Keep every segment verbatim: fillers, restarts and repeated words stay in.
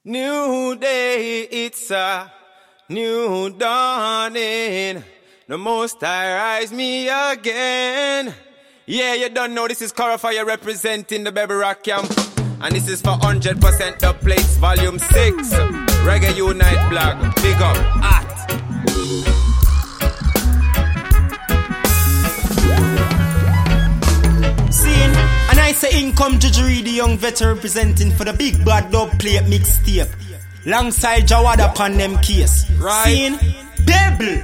New day, it's a new dawning. The Most High rise me again. Yeah, you don't know this is Corafire representing the Baby Rock Camp. And this is for one hundred percent The Place, Volume six. Reggae Unite blog. Big up. At. Scene. And I say income Jujuri, the young veteran representing for the Big Bad Dub Plate mixtape. Alongside Jawada upon them case. Right. Scene. Babel.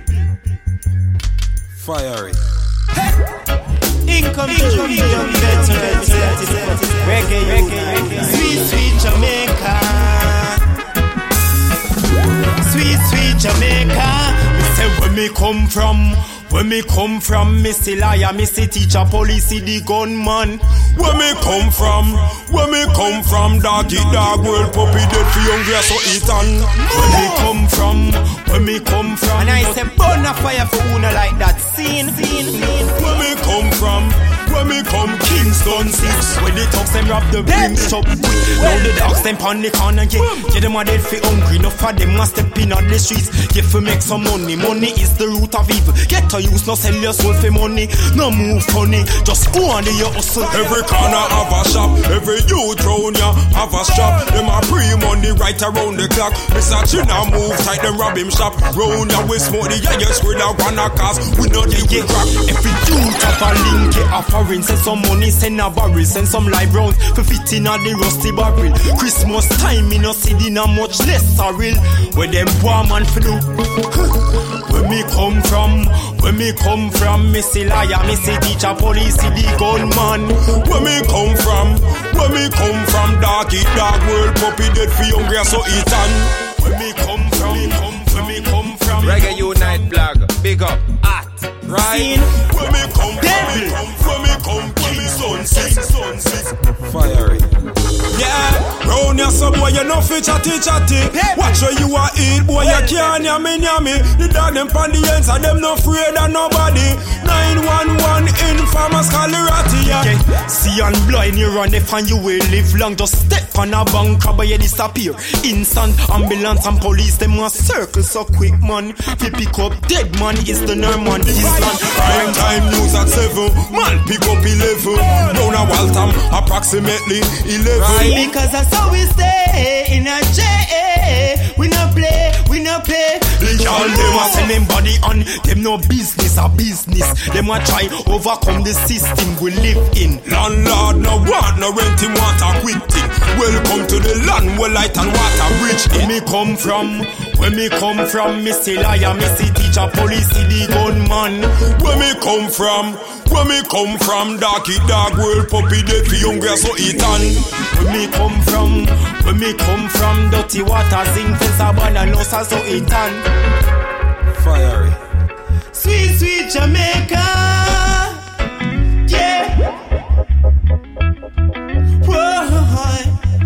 Fiery. Income Jujuri, the young veteran representing Reggae Unite. Sweet, sweet Jamaica. Sweet, sweet Jamaica. Me say where me come from. Where me come from, me still liar, me still teacher, police, the gunman. Where me come from, where me come from, doggy dog world puppy dead for young girls so eat on. Where me come from, where me come from. And I say burn a fire for una like that scene, scene, scene. Where me come from, where me come Kingston six. When the dogs them rap the brim shop quick. Now the dogs them pan the corner get. Get them a dead for hungry, enough for them a step in on the streets. Get for make some money, money is the root of evil. Get to use, no sell your soul for money. No move funny, just go on the your hustle. Every corner have a shop, every youth round ya have a shop. Them a pre-money right around the clock. Mister China move tight, them rob him shop. Round ya we smoke the yeah, squid out one a cast. We know they get crack. Every youth have a link, get a foreign. Send some money, send a barrel, send some live rounds for fitting on the rusty barrel. Christmas time, me no see dinner much less surreal. Where them poor man for do. Where me come from, where me come from, me see liar, me see teacher, police, see the gunman. Where me come from, where me come from, doggy dog world puppy dead for young girls so eat on. Where me come from, where me come from. Reggae Unite blog. Big up. At. Right. Scene. Where me come, where me come, where me come, Kingston six, son six. Fiery. Yeah, round ya some boy you no fit chatty chatty. Watch where you a eat, boy you can't yummy yummy. The dog them pon the ends and them no afraid of nobody. nine one one infamous Calarati, yeah. Yeah. See and blind you run if and you will live long. Just step on a bank but you disappear. Instant ambulance and police them a circle so quick man. We pick up dead man is the Norman Island. Prime time news at seven, man pick up eleven. Round a Waltham approximately eleven. Right. Because that's how we stay in a J. We no play, we no play. All them a send them body on. Them no business a business. Them a try overcome the system we live in. Landlord no want no rent him want a quick thing. Welcome to the land where light and water bridge. Where me come from, where me come from, me still liar, me see teacher, police, see the gunman. Where me come from, where me come from, doggy dog world puppy dead for young girls so eat on. Where me come from, where me come from, dirty water, zinc fence, abandon, no so eat on. Fiery. Sweet, sweet Jamaica. Yeah. Whoa.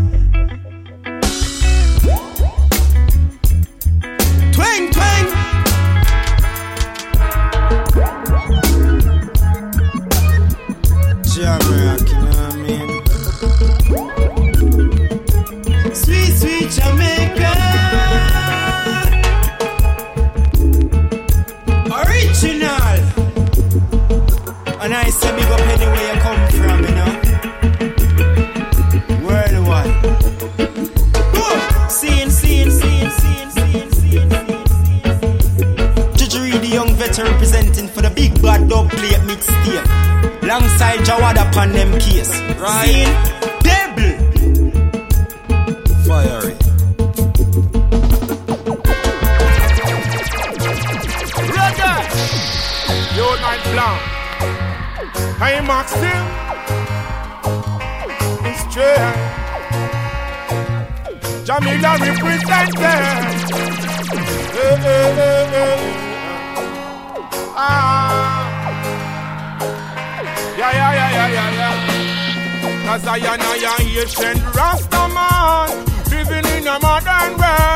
Twang, twang. Jamaica, you know what I mean? Sweet, sweet Jamaica. Original. And I say big up anywhere you come from, you know. Worldwide. Whoa. Scene, scene, scene, scene, scene, scene, scene. Jujuri, the young veteran representing for the Big Bad Dub Plate mixtape. Alongside Jawada upon them case. Right. Scene. Babel. Fiery. Unite Blanc. Hey Maxim. It's true. Jamila represented. Hey, hey, hey, hey. Ah. Yeah, yeah, yeah, yeah, yeah, yeah. Cause I am a Haitian Rastaman living in a modern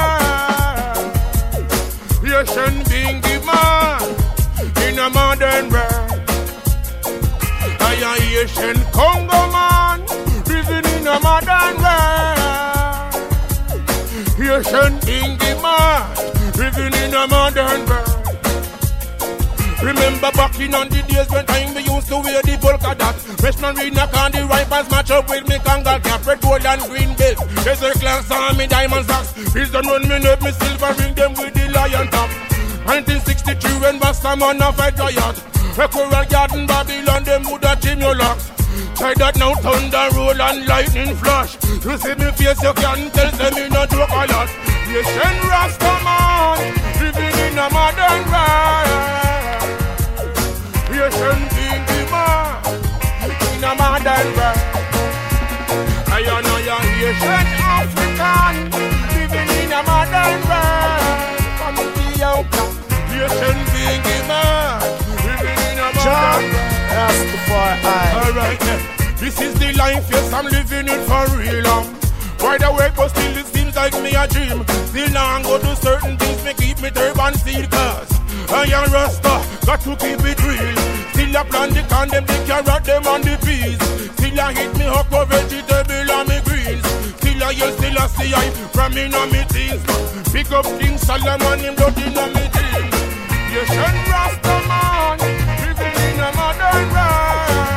world. Haitian being the man in a modern world. I am Haitian Congo man living in a modern world. Asian king demand, living in a modern world. Remember back in on the days when time we used to wear the polka dot. Freshman read knock on the rifles match up with me kangal cap, red, gold and green belt. Desert class on me diamond socks. Please don't run me up me silver ring them with the lion top. nineteen sixty-three when Bastaman a fight riot. A coral garden Babylon them would have trim your locks. Try that now thunder roll and lightning flash. You see me face you can tell them me no joke a lot. Asian Rastaman living in a modern world. Asian king demand in a modern world. I know you're Asian African living in a modern world. From Ethiopia, Asian king demand living in a modern world. Alright then, this is the life, yes I'm living it for real. um. Wide awake but still it seems like me a dream. Still now I go do certain things, me keep me turban seal. Cause I am Rasta, got to keep it real. Still I plant the can, them the carrot, them on the peas. Still I hit me up for vegetable and me greens. Still I yell, still I see I from in on me teens. Pick up King Solomon, him blood in on me teens. Asian Rasta man, living in a modern world.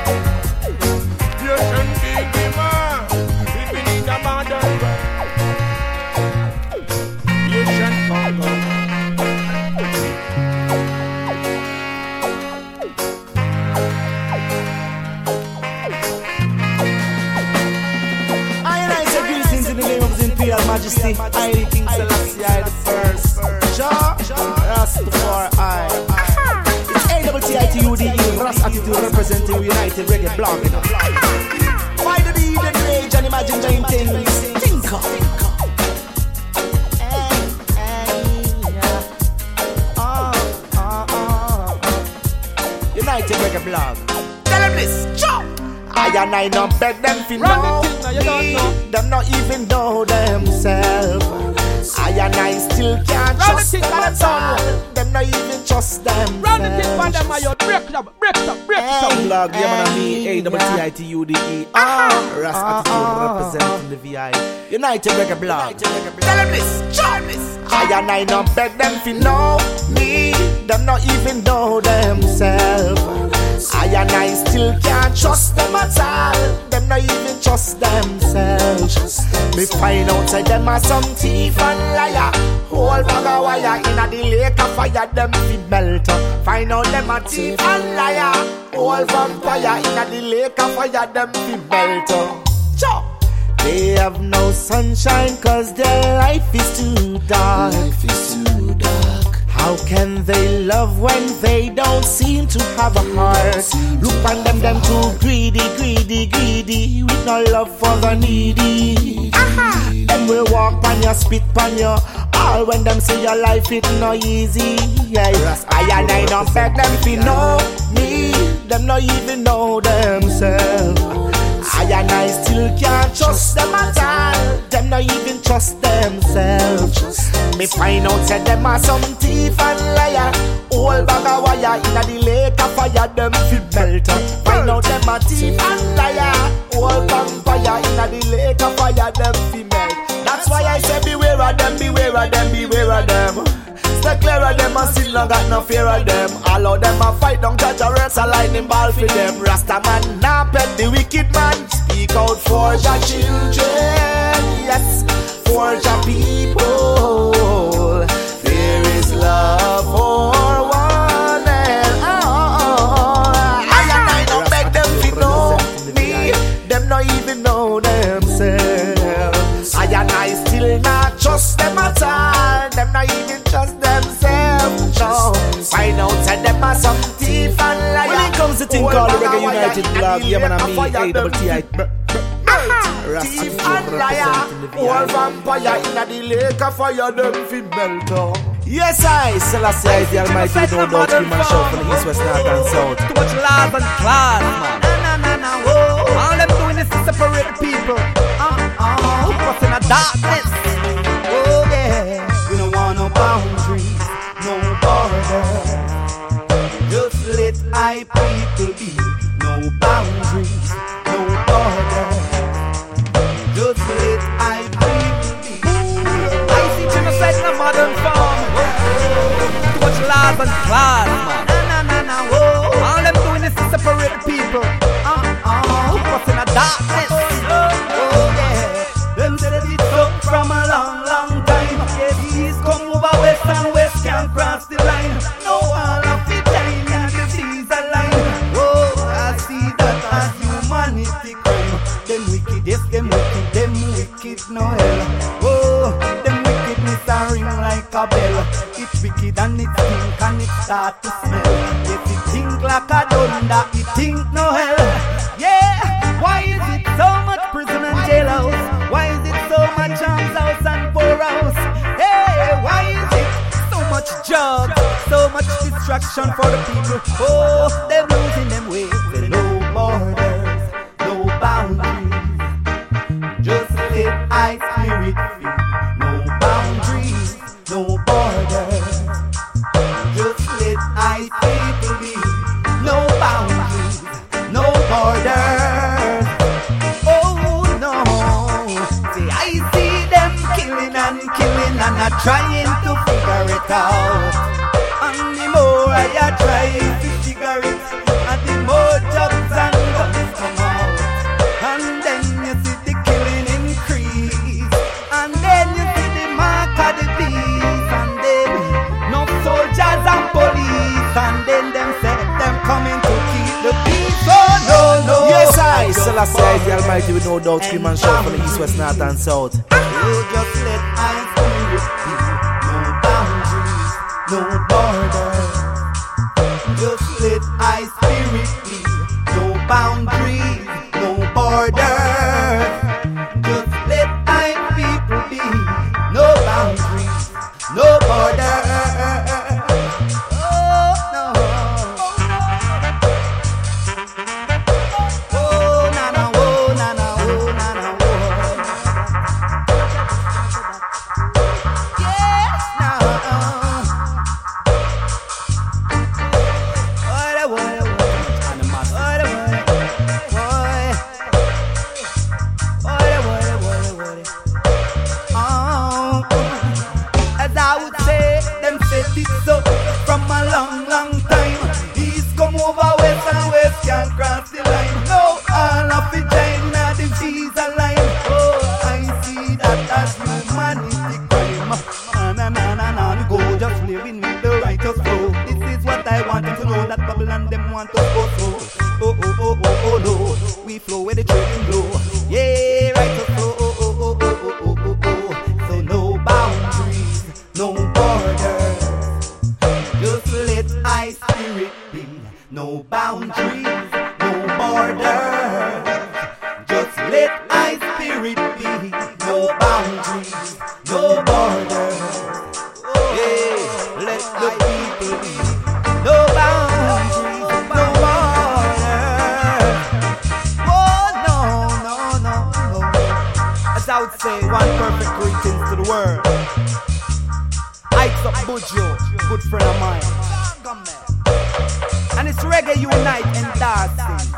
Asian king man, living in a modern world. Asian Congo. Imperial Majesty, I the King Selassie, I the first. Jah, Rastafari. It's A T T I T U D E, Ras Attitude representing United Reggae Blog. Why the be the rage and imagine giant things? Think of. United Reggae Blog. Tell them this, Jah. I and I don't beg them to know me. Them not even know themselves. I and I still can't trust them at all. Them not even trust them. Run the thing for them, my break it up, break it up, break it up. Blog, yeah, man, me, A T T I T U D E. Ah, Ras Attitude representing the V I. United Reggae Blog. Tell them this, charm this. I and I don't beg them to know me. Them not even know themselves. I and I still can't trust them at all. Them not even trust themselves. Me find out say them are some thief and liar. Whole bag of wire in a the lake of fire. Them fi melt. Find out them a thief and liar. Whole vampire in a the lake of fire. Them fi melt. Chop. They have no sunshine cause their life is too dark. Life is too dark. How can they love when they don't seem to have a heart? Look on them, them too greedy, greedy, greedy, with no love for the needy. Aha. Them will walk on your, spit on your, all when them say your life it no easy. Yeah, I and I don't beg them to know me. Them not even know themselves. I and I still can't trust them at all. Them not even trust themselves. Me find out say them are some thief and liar. Whole bag of wire in a the lake of fire. Them fi melt. Find out them a thief and liar. Whole vampire in a the lake of fire. Them fi melt. That's why I say beware of them, beware of them, beware of them. Stay clear of them and still not got no fear of them. All of them a fight down catch a race a lightning ball for them. Rasta man nah pet the wicked man. Speak out for your children, yes, for your people. There is love for one and all. I and I don't beg them to know me. Them not even know themselves. I and I still not trust them at all. Them not even trust themselves. No, find out that them are some thief and liar. When it comes to thing called the Reggae United Blog, yeah man, I mean A T T I thief and liar. Whole vampire in a the lake of fire. Them fi melt. Yes, I, Selassie, I, the Almighty, no doubt, we mash out from the east, west, north, and south. Too much love and class, man. Na na na oh. All them doing is to separate the people. Uh, uh, who cross in the darkness? Oh yeah. We don't want no boundaries, no borders. Just let I people be. No boundaries, no borders. Just let I people be. darkness. Oh yeah, them said it so from a long, long time. Yeah, east come over west and west can't cross the line. No all of the time in the seas line. Oh, I see that as humanity crime. Them wicked, yes, them wicked, them wicked no hell. Oh, them wickedness a ring like a bell. It's wicked and it stink and it start to smell. Yes, it think like a thunder, it think no hell. Yeah, why is it so much prison and jailhouse? Why is it so much arms house and poorhouse? Hey, why is it so much drugs, so much distraction for the people? Oh, they're losing them ways. There no borders, no boundaries. Just let I spirit free. No boundaries, no borders. Just let I people be. No boundaries, no borders. Oh no, see I see them killing and killing and I'm trying to figure it out. And the more I try to figure it, and the more jobs and guns come out. And then you see the killing increase, and then you see the mark of the beast, and then no soldiers and police, and then them say them coming to keep the peace. Oh no, no. Yes, I, Selassie the Almighty, with no doubt, scream and shout from the east, west, north and south. Oh, just let I spirit be. No boundaries, no borders. Just let I spirit be. No boundaries, no borders. Just let I people be. No boundaries, no borders. Oh no. Oh na na, oh na na, oh na na, oh. Yes, now. What a what a what a what a what a what a what a what a. Oh, as I would say, them said it so from a long, long time. East come over west and west can't cross the line. No, all of the China, the visa line. Oh, I see that as humanity crime. Na na na na na, we go just living with the righteous flow. This is what I want them to know, that Babylon them want us go through. Oh oh oh oh oh no, we flow where the trading blow. Yeah, righteous flow. Oh oh oh oh oh oh oh. So no boundaries, no borders. Just let I spirit be. No boundaries, no borders. Just let I spirit be. No boundaries, no borders. Yeah, let the people be. No boundaries, no borders. Oh no, no, no, no. As I would say, one perfect greetings to the world. Ike's up Bujo, good friend of mine. And it's Reggae Unite and dancing.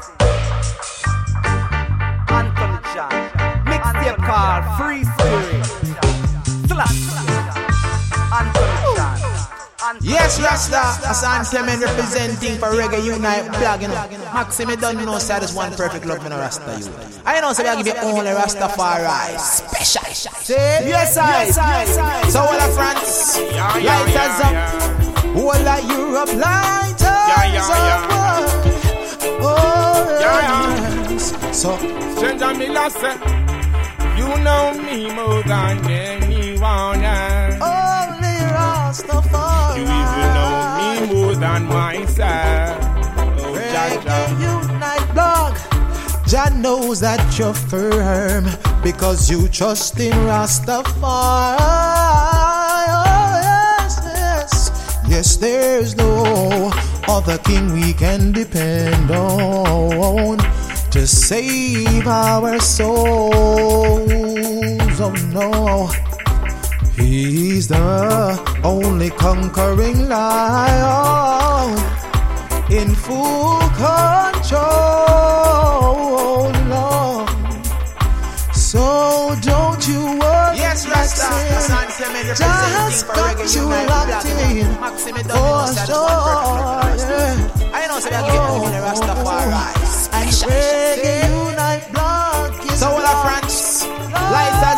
Anthony John, mixtape called Free Spirit. Slap. Anthony John. Yes, Rasta, Hassan Clement representing for Reggae Unite blog, you know. Maxime don't know say there's one perfect love in a Rasta you. I know say I give you only Rastafari special. Yes, I, yes, I, yes, I. So all of France, lighters up. All of Europe, lighters up. Oh, yes. So, Stranger Miller say, you know me more than anyone else. Only Rastafari. You even know me more than myself. Oh, Reggae Unite blog. Jah knows that you're firm because you trust in Rastafari. Oh, yes, yes. Yes, there's no other king we can depend on to save our souls. Oh no, he's the only conquering lion in full control. Lord. So don't you worry. Yes, Rasta. Just got you locked in for sure. Yeah. I know, so I give you only Rastafari. And Reggae Unite blog.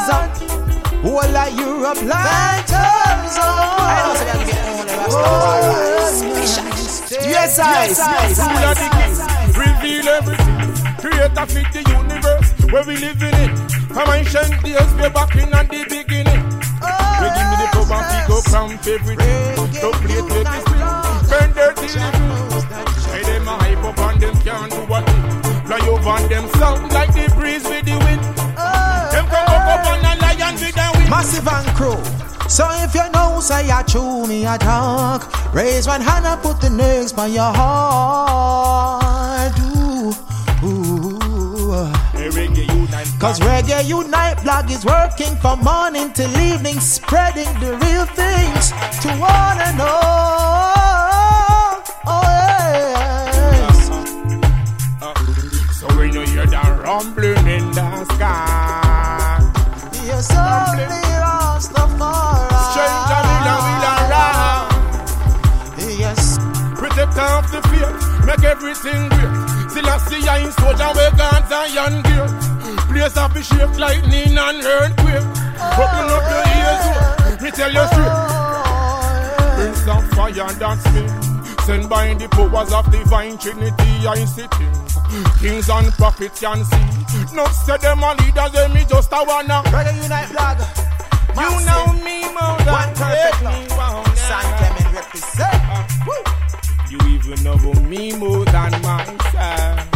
All of Europe like Tarzan. I don't say I get only Rastafari. Yes, I. Rule of the king, reveal everything. Create a fit the universe where we live in it. From ancient days, we're back in at the beginning. We give me the power and go cramp everything. Don't play it, make it spin. Burn dirty living. Hey, them a hype up and them can't do what they fly over and them sound like the breeze with the wind. Them come up up on a lion with the wind. Massive and Crew. So if you know, say I chew me a talk. Raise one hand and put the next by your heart. Ooh, ooh. Hey, Reggae Unite. Cause Reggae Unite blog is working from morning till evening, spreading the real things to all and all. Oh yes. uh, uh, So when you hear that rumbling in the sky, yes, only Rastafari. stranger will will around. Yes. Protect off the fear, make everything great. Still I see ya in soldier where guns and young gear. Place up the shape lightning and earthquake. Open up your ears, me tell you straight. Prince of fire, that's me. Sent by the powers of divine Trinity, I see things. Kings and prophets can see. Not say them a leaders, they me just a wanna. Reggae Unite blog. You know me more than one perfect love. San Clement represent. Uh, you even know me more than myself.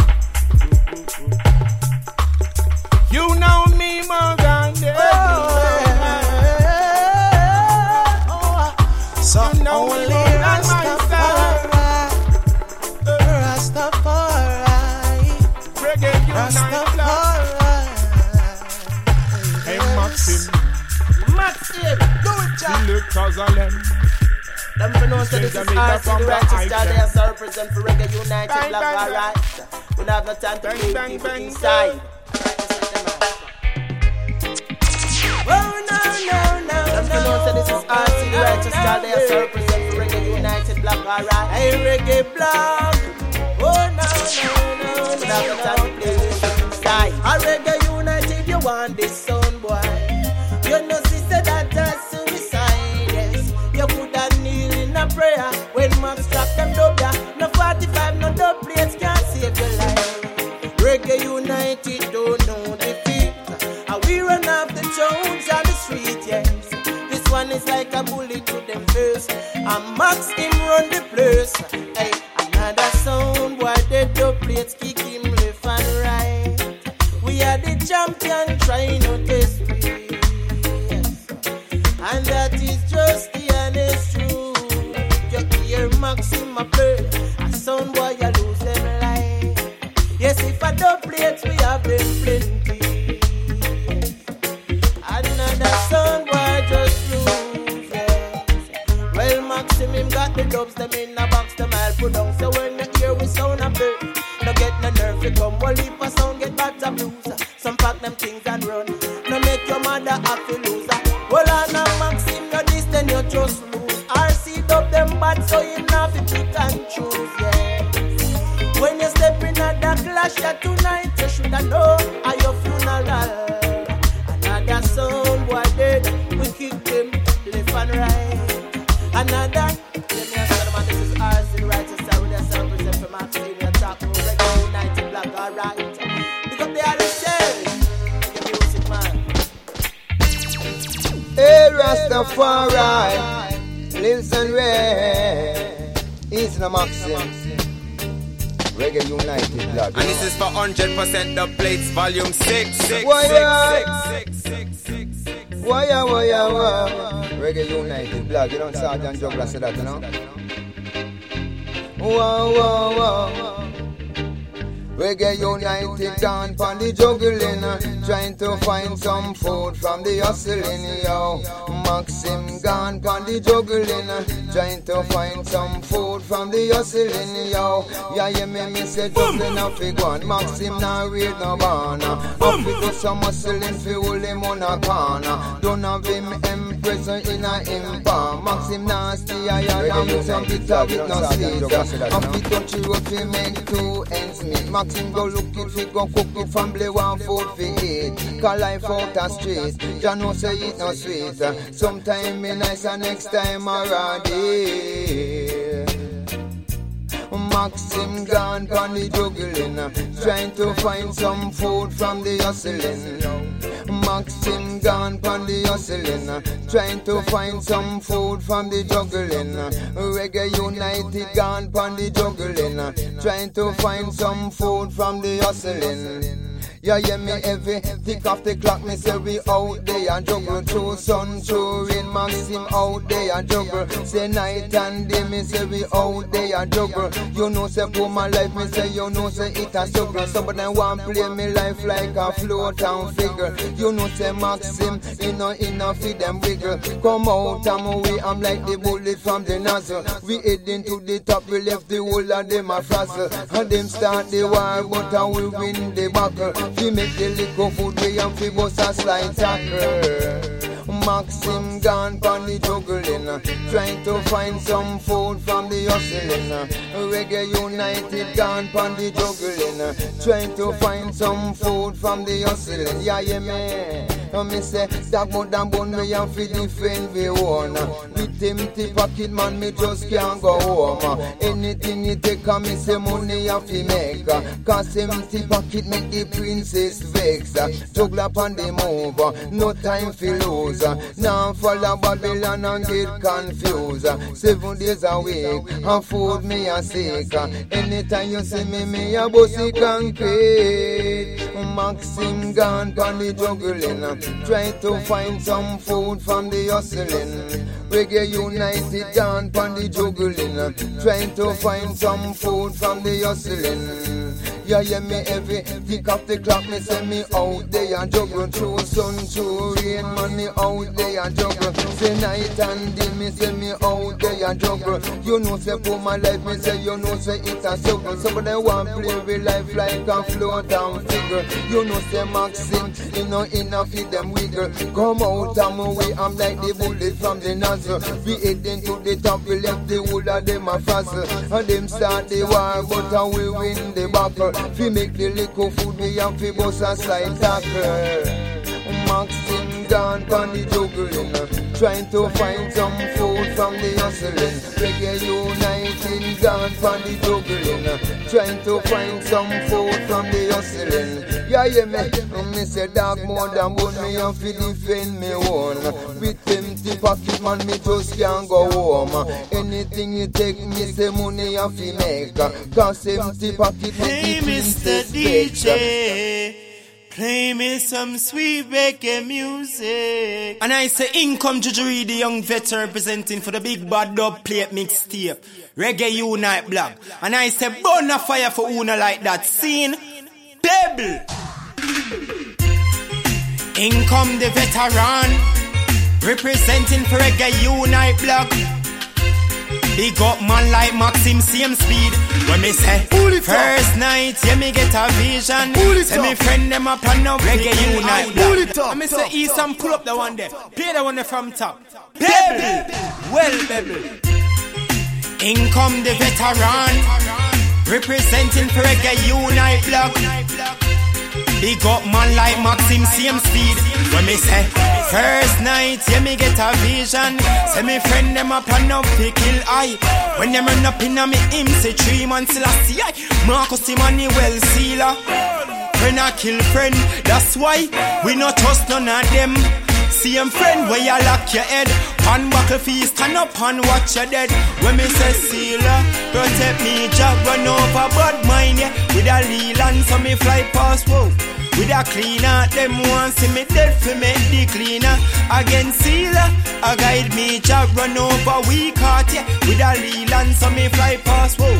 You know me more than them. Oh, oh. So you know only me more than Rastafari, Rastafari, Reggae Unite blog. Rastafari. Hey Maxim, Maxim, do it, Jack. he looked as a lamb. Them for know say this is R C the righteous star. They are so represent for Reggae United blog, alright. We don't have no time to play with people inside. Oh no no no. Them for know say this is R C the righteous star. They are so represent for Reggae United blog, alright. Hey Reggae blog. Oh no no no. We don't have no time to play with people inside. A Reggae United, you want this sound boy? You know sister that does suicide. Yes, you could have kneel in a prayer when Max drop them dub ya. No forty-five, no dub plates can't save your life. Reggae United don't know defeat. And we run off the Jones on the street, yes. This one is like a bullet to them face. And Max him run the place. Hey, another sound boy, the dub plates kick him left and right. We are the champion, trying to test me. And that is just the honest truth. You hear Maxima play, a sound boy you lose them life. Yes, if I don't play it, we have them plenty. Another sound boy just lose, yes. Well, Maxim him got the dubs, them in a box, them I'll put down. So when you hear we sound a play, no get no nerve, you come, well, if a sound get bad to blues. Some pack them things and run, no make your mother have to lose. Well, I know Maxim, you this, then you just lose. R C dub them bad, so you have to pick and choose, yeah. When you step in at the clash, yeah, tonight, you should have known at your funeral. Another sound boy dead, we kick them left and right. Another, let me ask you, man, this is R C, the righteous side, with yourself, present for Maxim, you talk about Reggae United blog, alright. Because they are the same. Music, man. Hey Rastafari, listen where is the Maxim. Reggae United blog. And this is for one hundred percent the plates, volume six. six, Why, six, six, six, six, six. Why, why, why? Reggae United blog. You don't Sergeant Juggler say that, you know? Whoa, whoa, whoa. Reggae United down pon the juggling, uh, trying to find some food from the hustling, yo. Maxim gone pon the juggling, uh, trying to find some food from the hustling, yo. Yeah, you me me say juggling a fi gone. Maxim now read no banner. Up fi do some hustling fi hold him on a corner. Don't have him M present in a impalm. Maxim nasty, I am some bitter with no sweet. And we touch you up, we make two ends meet. Maxim go look it, we go cook it, family one food for eat. Call life out the street, Jah know say it no sweet. Sometime me nice and next time already. Maxim gone pon the juggling, trying to find some food from the hustling. Maxim gone pon the hustling, trying to find some food from the juggling. Reggae United gone pon the juggling, trying to find some food from the hustling. Yeah, yeah, me every tick off the clock, me say we out there and juggle. Through sun, through rain, Maxim out there and juggle. Say night and day, me say we out there and juggle. You know say for my life, me say you know say it a struggle. Somebody want play me life like a float and figure. You know say Maxim, you know enough for them wiggle. Come out and we, I'm like the bullet from the nozzle. We heading to the top, we left the whole of them a frazzle. And them start the war, but I will win the battle. We make the liquor food, we and we bust a slide tackle. Maxim gone pon the juggling, trying to find some food from the hustling. Reggae United gone pon the juggling, trying to find some food from the hustling. Yeah, yeah, man. And me say, that more than bone me and fi defend we own. With empty pocket man, me just can't go home. Anything you take on me say money I fi make. Cause empty pocket make the princess vex. Juggle up on the move, no time fi lose. Now follow Babylon and get confused. Seven days a week, and food me a sick. Anytime you see me, me a bossy concrete. Maxim gone pon the juggling, trying to find some food from the hustling. Reggae United gone pon the juggling, trying to find some food from the hustling. Yeah, yeah, me every tick off the clock, me say me out there and juggle. Through sun, through rain, man, me out there and juggle. Say night and day, me say me out there and juggle. You know say for my life, me say you know say it's a struggle. Somebody want play with life like a float and figure. You know say Maxim, you know enough for them wiggle. Come out and away, I'm like the bullet from the nozzle. We heading to the top, we left the whole of them a frazzle. And them start the war, but I will win the battle. We make the liquor food, we have to bust a slide tackle. Maxim gone pon the juggling, trying to find some food from the hustling. Reggae United gone pon the juggling, trying to find some food from the hustling. Yeah, yeah, me, me say dog more than bone, me have to defend me own. With empty pocket, man, me just can't go home. Anything you take, me say money have to make. Cause empty pocket, hey, Mister D J, play me some sweet reggae music. And I say, in come Juju, the young veteran representing for the big bad dub plate mixtape, Reggae Unite Blog. And I say, burn a fire for Una like that scene. Devil. In come the veteran representing for Reggae Unite Blog. Big up man like Maxim, same speed. When me say first night, yeah me get a vision. Say me friend them up and now Reggae Unite Blog. And me say ease and pull up the one there. Play the one there from top. Baby, well baby. In come the veteran representing for Reggae Unite Blog. Big up man like Maxim, same speed. When me say first night, yeah me get a vision. Say me friend them up and up to kill I. When them run up in a me him say three months last year. Marcus Emmanuel Sealer. Friend a kill friend, that's why we not trust none of them. Same friend where you lock your head. Pan buckle feast, stand up and watch your dead. When me say Sealer, protect me, Jack run over bad mind, yeah. With a Leland, so me fly past, whoa. With a cleaner, them want see me dead for make the cleaner. Again Sealer, a guide me, Jack run over weak heart, yeah. With a Leland, so me fly past, whoa.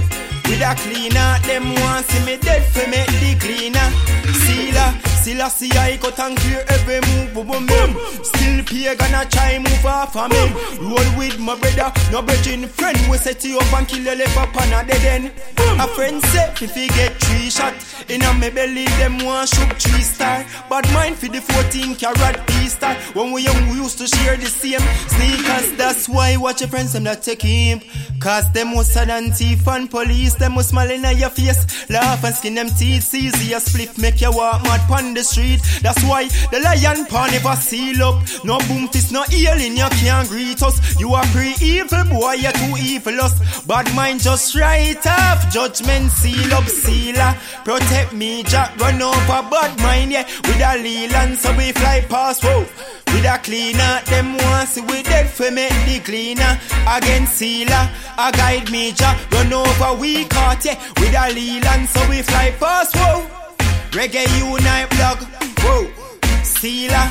with a cleaner. Them want see me dead for make the cleaner. Sealer, still I see I cut and clear every move, boom, boom, boom. Still pay gonna try move off of me. Roll with my brother, no bridging friend. We set you up and kill your left up on a dead end. A friend said if he get three shot in a me belly, them want shoot three star. But mine for the fourteen carat Easter. When we young we used to share the same sneakers. That's why watch your friends them that take him. Cause them was sad and thief and police. Them was smiling at your face, laugh and skin them teeth. Easy a split make you walk mad pon the street. That's why the lion paw never seal up. No boom fist, no healing, you can't greet us. You are pre-evil boy, you're too evilous. Bad mind just right off. Judgment seal up, sealer. Protect me, Jack, run over bad mind, yeah. With a Leland, so we fly past, whoa. With a cleaner, them once we dead for make the cleaner. Against sealer, a guide me, Jack, run over we caught, yeah. With a Leland, so we fly past, whoa. Reggae Unite blog, whoa. Sealer.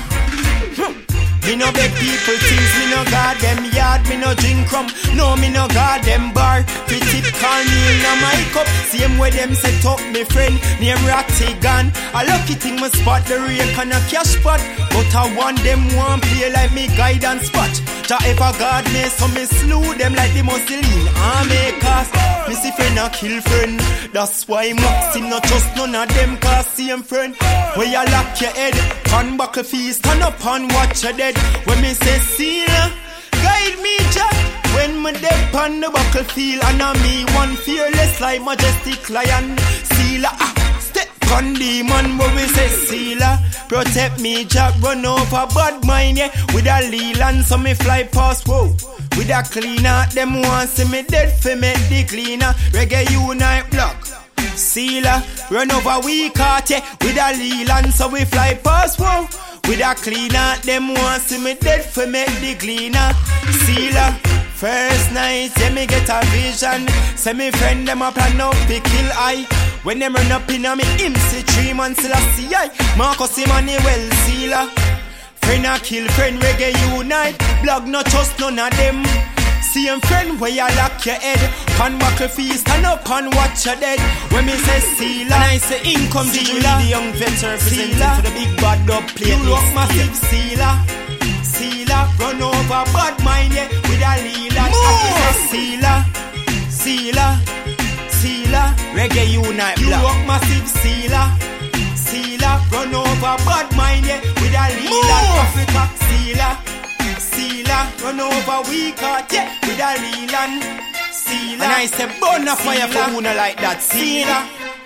Me no beg people things, me no guard them yard, me no drink rum, no me no guard them bar. Pretty call me in a my cup, same way them set up me friend, name Rattigan. A lucky thing me spot the rake and a cash spot, but I want them one play like me guidance spot. Ja ever guard me, so me slew them like the Mussolini army cast. Me see friend a kill friend, that's why Maxim not trust none of them cause same friend. Where you lock your head, pan buckle feast, stand up and watch your dead. When me say sealer, guide me Jack. When me dead pan the buckle field, and on me one fearless like majestic lion. Sealer, ah, step on demon. When we say sealer, protect me Jack. Run over bad mind, yeah. With a Leland, so me fly past, whoa. With a cleaner, them want see me dead for make the cleaner. Reggae Unite block. Sealer, run over we caught, yeah. With a Leland, so we fly past, whoa. With a cleaner, them want see me dead for make the cleaner. Sealer, first night, yeah, me get a vision. Say me friend them a plan up to kill I. When them run up in a me him see three months till I see I. Marcus Emmanuel Sealer. Friend a kill friend, Reggae Unite. Blog no trust none of them. Same friend where you lock your head. Pan buckle feast, stand up and watch your dead. When me say Sealer, and I say income Sealer, the young veteran representing for the big bad dub play. You look massive Sealer. Sealer, run over bad mind, yeah. With a Leland, I say Sealer. Sealer, Sealer, Reggae Unite. You look massive Sealer. Sealer, run over bad mind, yeah. With a Leland, Africa Sealer. Sealer, run over we caught, yeah, with a Leland. Sealer, and I say burn a fire for una like that. Sealer,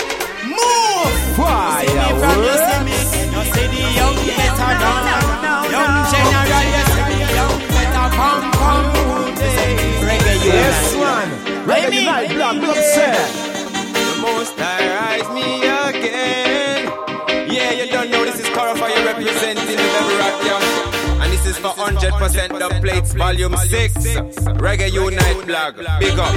move! Fire, see me from you, see me. You see the young better down. Young general, you see the young better come, come. Reggae Unite. Yes, man. Reggae Unite, black, black, sir. The most I rise me again. Yeah, you don't know this is Corafire representing the Devil Rock, yeah. And this is for one hundred percent the plates, volume six. Reggae Unite blog. Big up.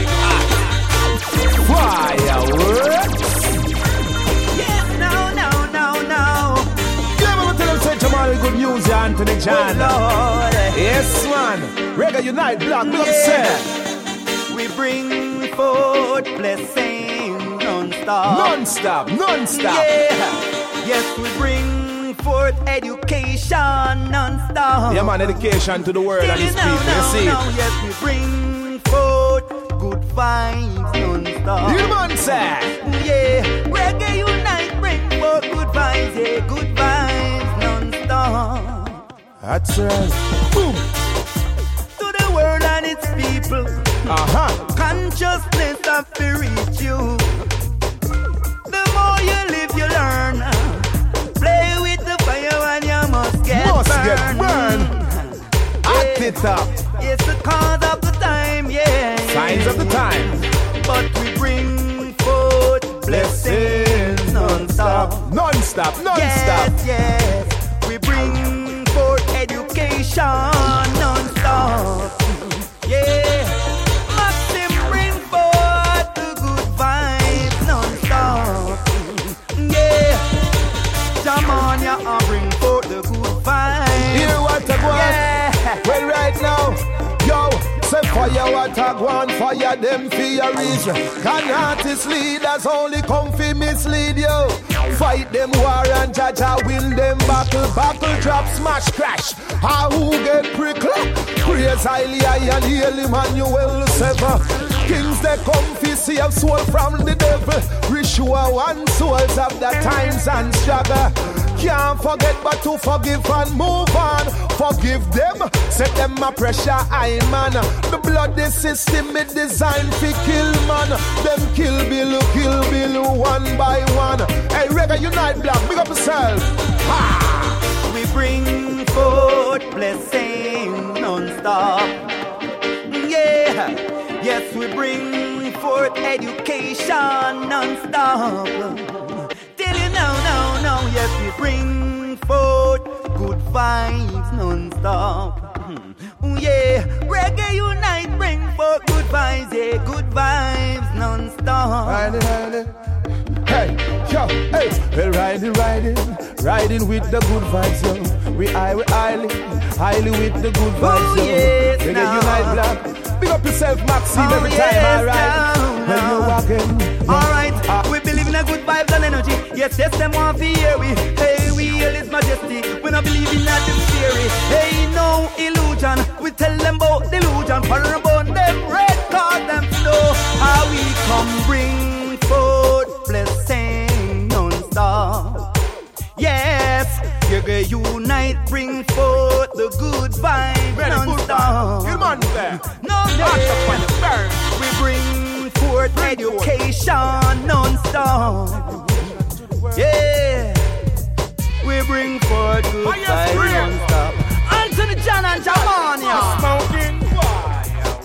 Fireworks. Yes, no, no, no, no. Yeah, man, tell them say Jamal good news, yeah, Anthony John. Oh, Lord. Yes, man. Reggae Unite, black, black, sir. We bring forth blessings non-stop. Non-stop, non-stop. Yeah. Yes, we bring forth education non-stop. Yeah, man, education to the world and its people. You see it? Yes, we bring forth good vibes non-stop. You man, sir. Yeah, Reggae Unite bring forth good vibes. Yeah, good vibes non-stop. That's right. Boom. To the world and its people. Uh-huh. Consciousness have to reach you. The more you live, you learn. Play with the fire and you must get must burned. get burned. Act it up. It's the cause of the time, yeah. Signs of the time. But we bring forth blessings non-stop. Non-stop, non-stop. Yes, yes. We bring forth education non-stop. Yeah. Maxim bring forth the good vibes non-stop. Yeah. Jamania, I bring forth the good vibes. Hear what I want? Yeah. Well, right now, yo, so say fire what I want, fire them for your reason. Can artists leaders only come for mislead you? Fight them war and Jaja win them battle. Battle drop, smash, crash. How who get prickle? Praise highly high and hail Emmanuel sever. Kings they come for save soul from the devil. Ritual one souls of the times and struggle. Can't forget but to forgive and move on. Forgive them, set them a pressure high man. The bloody system is designed to kill man. Them kill Bill, kill Bill one by one. Hey Reggae Unite Black, big up yourself. Ha! We bring forth blessings non-stop. Yeah, yes we bring forth education non-stop. Till you know, no, no, yes we bring forth good vibes non-stop. Mm, yeah, Reggae Unite bring forth good vibes, yeah, good vibes non-stop. Riding, riding. Hey, yo, hey, we're riding, riding, riding with the good vibes, yo. We high, we highly, highly with the good vibes, yo. Oh, yes, Reggae now. Unite Black. Big up yourself, Maxine, Oh, every yes, time, alright? now, When now. you're walking. Alright, Ah. we believe in a good vibes and energy. Yes, yes, them want to hear we. Hey, we hail His Majesty. We not believe in that them theory. Hey, no illusion. We tell them about delusion. Follow about them red card them know how we come bring forth blessing non-stop. Yes, Reggae Unite bring forth the good vibes non-stop. You man there. No, no, we bring forth education non-stop. Yeah, we bring forth good vibes non-stop. Anthony John and Jamania. Smoking fire.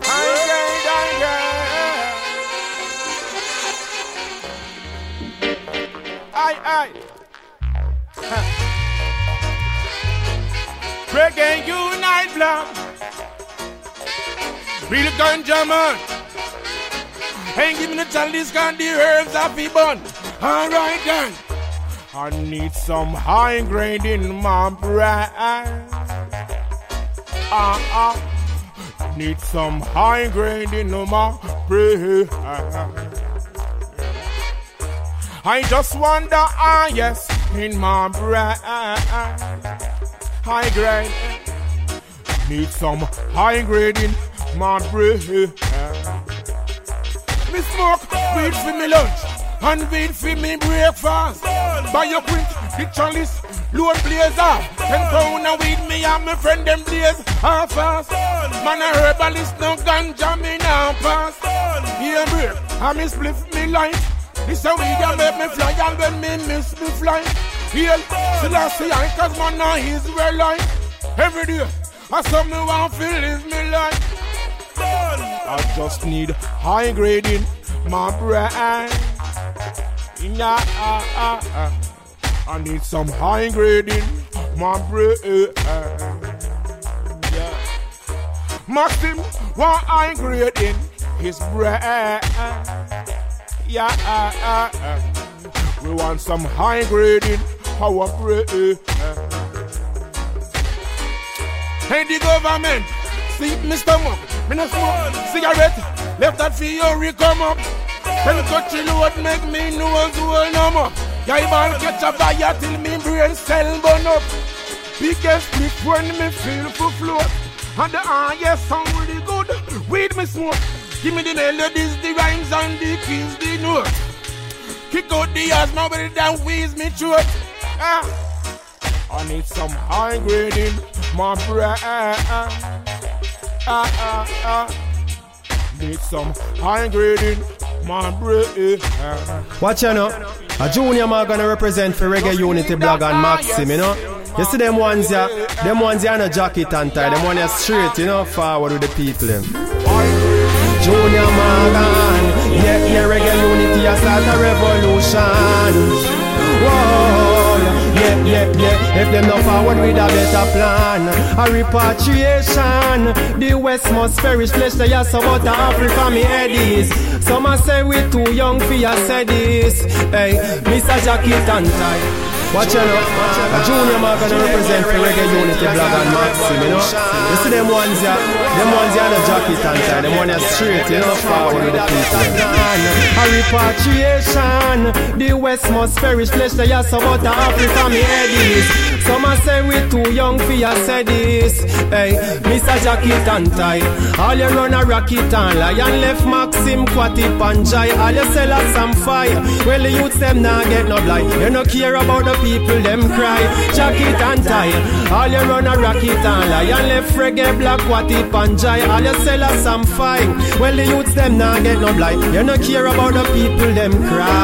Aye, aye. Reggae Unite Black. Real ganja man. Ain't giving a chalice got the herbs off the bun. Alright then. I need some high grade in my bread. Ah ah. Need some high grade in my bread. I just wonder, ah yes, in my bread. High grade. Need some high grade in my bread. Me smoke weed for me lunch and weed for me breakfast. Buy your print, the chalice, load blaze off. Ten pound of weed me and my friend them blaze half fast. Man a herbalist, no ganja me now pass. Here break, I me spliff me light. This a weed that make me fly and when me miss me fly. Here, Selassie I cause man a Israelite. Every day, I saw me want to live me life. I just need high grade in my brain. Yeah, uh, uh, uh. I need some high grade in my brain. Yeah. Maxim want high grade in his brain. Yeah, uh, uh, uh. We want some high grade in our brain. Hey, the government, see me stomach. Me no smoke cigarette, left that fury come up. Then touch the load, make me nose well numb up. Yeah, ball catch a fire till me brain cell burn up. Biggest split when me feel for float. And the ah yes sound really good. Weed me smoke. Give me the melodies, the rhymes and the keys, the notes. Kick out the ass, nobody down wheeze me throat. Ah, I need some high grade in my brain. Ah, ah, ah. Need some high grade in my brain. Watch you know, a junior man gonna represent for Reggae Unity Blog and Maxim, you know. You see them ones here, them ones here no jacket and tie, them ones here straight, you know, forward with the people them. Junior Morgan, yeah, yeah, Reggae Unity a start a revolution. Whoa, yeah, yeah, yeah, if them not forward with a better plan. A repatriation, the West must perish, flesh the ass about Africa, me eddies. Some a say we too young for ya say this. Hey, Mister Jacket and tie. Watch out, a junior man gonna represent for Reggae Unity Blog and Maxim, you know. You see them ones here, Them ones you the jacket and tie. Them ones you straight, you know, forward with the people. A repatriation. The West must perish. Flesh the ass about the Africa, me head is. Some a say we too young for ya say this. Hey, Mister Jacket and tie. All you run a rocket and lion left Maxim, Quatty, Panjai. All you sell us some fire. Well, the youths them nah get no blind. You no care about the people, them cry. Jacket and tie. All you run a rocket and lion left reggae, black, Quatty, Panjai. All you sell us some fire. Well, the youths them nah get no blind. You no care about the people, them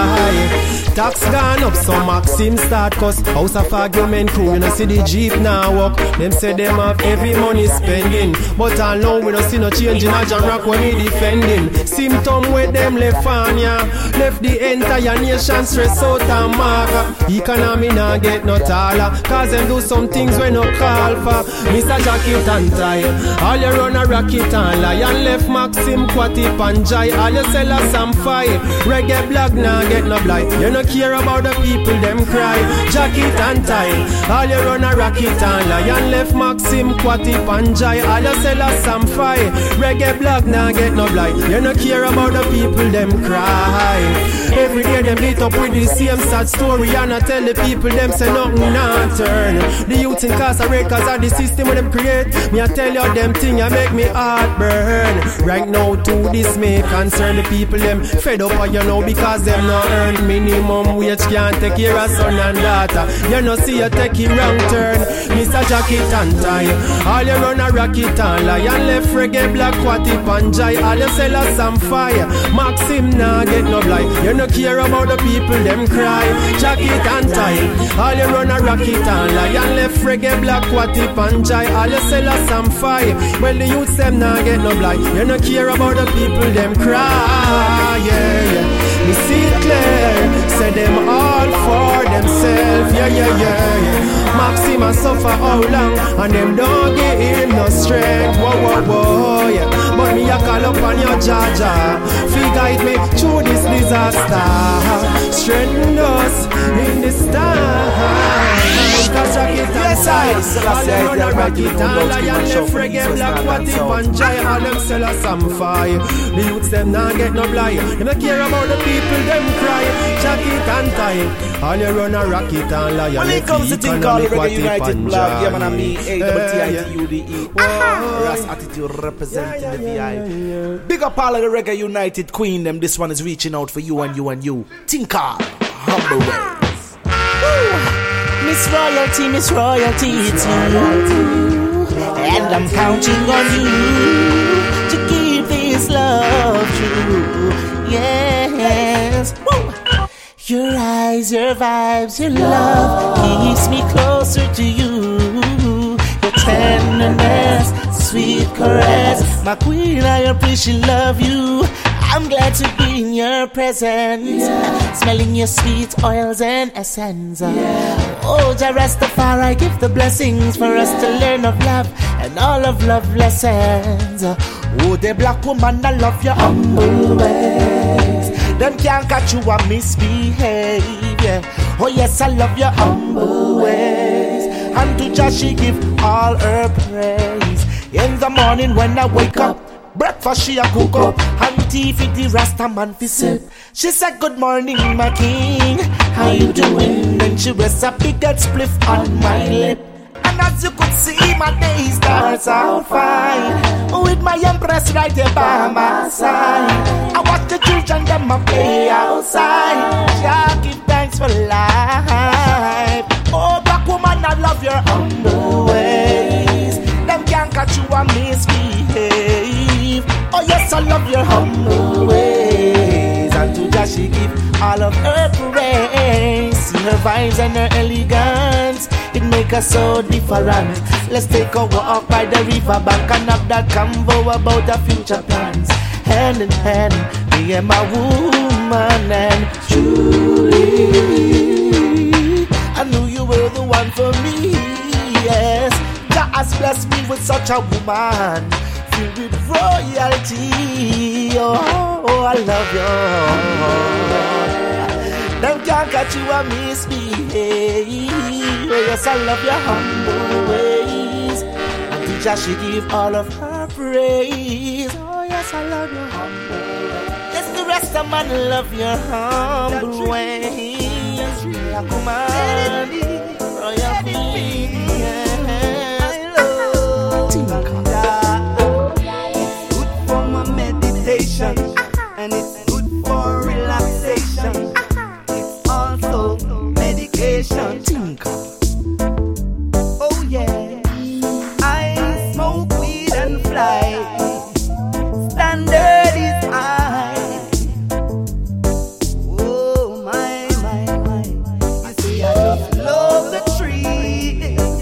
cry. Tax gone up, so Maxim start cost. House of argument crew, you know see the Jeep now walk. Them say them have heavy money spending, but I know we don't see no change in a John Rock when he defending. Symptom with them left on ya, left the entire nation stress out and mark. Economy now get no taller, cause them do some things when no call for. Mister Jacket and tie, all you run a rocket and lion left Maxim, Quatty, Panjai. All you sell us some fire, reggae black now get no blight. You know care about the people, them cry. Jacket and tie, all you run a rocket and lion left Maxim, Quatty, Panjai. All you sell us some fire, reggae black now get no blight. You no care about the people, them cry. Every day them lit up with the same sad story, and I tell the people them say nothing not turn. The youth incarcerate cause of the system when them create. Me I tell you them thing I make me heart burn. Right now to this may concern the people, them fed up you know because them not earn minimum wage can't take care of son and daughter. You know see you take it wrong turn. Mister Jacket and tie, all you run a rocket and lion left reggae black, Quatty, Panjai. All you sell us some fire, Maxim nah get no blight. You no care about the people, them cry. Jacket and tie, all you run a rocket and lion left reggae black, Quatty, Panjai. All you sell us some fire, well the youths them nah get no blight. You no care about the people, them cry. Yeah, yeah. Me see it clear, say them all for themselves. Yeah, yeah, yeah, yeah. Maxim a suffer how long, and them don't give him no strength. Whoa, whoa, whoa, yeah. But me a call up on your Jaja, fi guide me through this disaster. Strengthen us in this time. Cause Jacket and tie, all them run a rocket and lion left reggae black, Quatty, Panjai. All them sell us some fire. The youths them nah get no blind. Them not care about the people, them cry. Jacket and tie, all you run a rocket and lion left. When it comes to thing called the Reggae United blog, yeah man, I mean A W T I T U D E. Ras Attitude representing the V I. Big up all of the Reggae United Queen, them. This one is reaching out for you and you and you. Tinker, humble ways. Miss Royalty, Miss Royalty, it's you. And I'm counting on you to keep this love true. Yes. Woo. Your eyes, your vibes, your love keeps me closer to you. Your tenderness, sweet caress, my queen, I appreciate love you. I'm glad to be in your presence, yeah. Smelling your sweet oils and essence. Yeah. Oh, Jah Rastafari, give the blessings for us to learn of love and all of love lessons. Oh, the black woman, I love your humble ways. Them can't catch you and misbehave. Yeah. Oh yes, I love your humble ways. And to Jah she give all her praise. In the morning when I wake up, breakfast she a cook up, and tea for the Rasta man fi sip. She said, good morning my king, how you doing? Then she rests a big head spliff on my lip. And as you could see, my day starts out fine, with my empress right here by my side. I watch the children them a play outside. Yeah, give thanks for life. Oh black woman, I love your humble ways. Them can't catch you and misbehave. Oh yes, I love your humble ways. And to Jah she give all of her praise. See her vibes and her elegance, it make us so different. Let's take a walk by the river bank and have that convo about our future plans. Hand in hand, me and my woman, and truly I knew you were the one for me. Yes, Jah has blessed me with such a woman, filled with royalty. Oh, oh I love you. Them can't catch you and misbehave. Oh yes, I love your humble ways. And to Jah she give all of her praise. Oh yes, I love you. Yes, the rest of man love your humble ways. Yeah, come on, royal queen. I love Ganja. It's good for my meditation, and it's good for relaxation. It's also medication. Oh yeah, I smoke weed and fly. Standard is high. Oh my, my, my. You see, I just love the trees.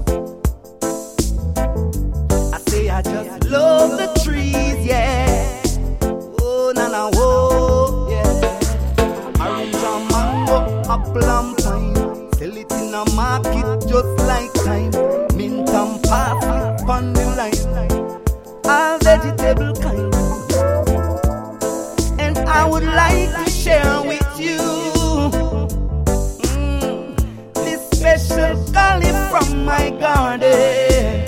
I say I just love the trees, yeah. Oh, na na, whoa, yeah. Orange and mango, apple and pine. Sell it in a market just like time. Mint and parsley on the line. All vegetable kind. And I would like to share with you mm, this special garlic from my garden.